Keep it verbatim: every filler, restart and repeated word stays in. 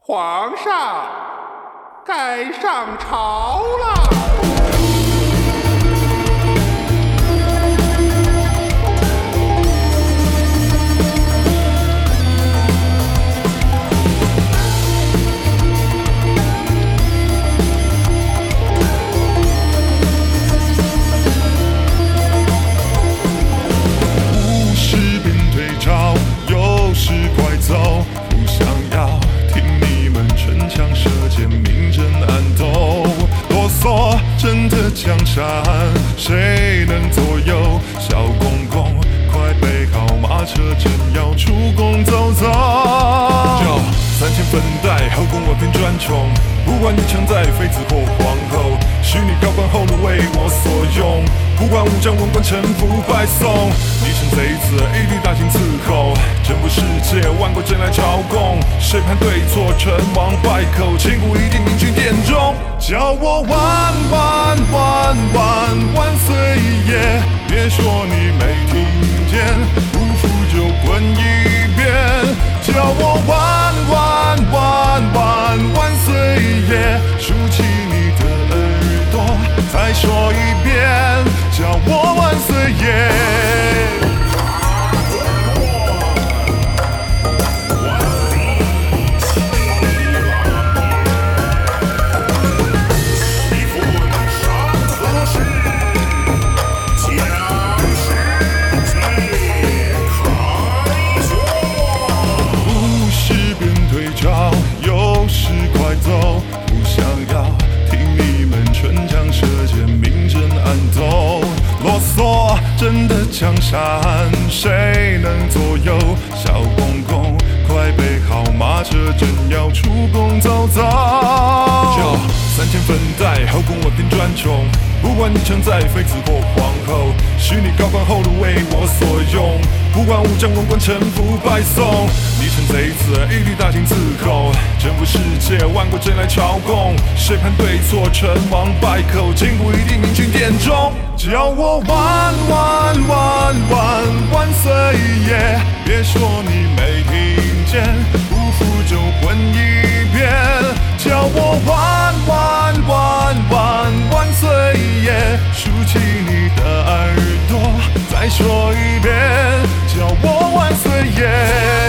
皇上，该上朝了。 无事便退朝，有事快走，不想要听你们唇枪舌剑，明争暗斗，啰嗦真的江山，谁能左右？小公公，快备好马车，正要出宫走走。就三千粉黛，后宫我偏专宠，不管你强在妃子或皇后，许你高官厚禄为我所用，不管武将文官臣服拜送。你趁贼子，一律大刑伺候，征服世界，万国争来朝贡，谁判对错，成王败寇，千古一定明君殿中，叫我万万万万万岁爷！别说你没听见，不服就滚一边！叫我万万万万万岁爷！竖起你的耳朵，再说一遍，叫我万岁爷！有事快走，不想要听你们唇枪舌剑，明争暗斗，啰嗦真的江山，谁能左右？小公公，快备好马车，正要出宫走走。就三千粉黛，后宫我偏专宠，不管你强在妃子或皇后，许你高官厚禄为我所用，不管武将文官臣服拜送。你趁贼子，一律大刑伺候，征服世界，万国争来朝贡，谁判对错，成王败寇，千古一定明君殿中，叫我万万万万万岁爷！别说你没听见，不服就滚一边！叫我万万万万万岁爷！竖起你的耳朵，再说一遍，叫我万岁爷！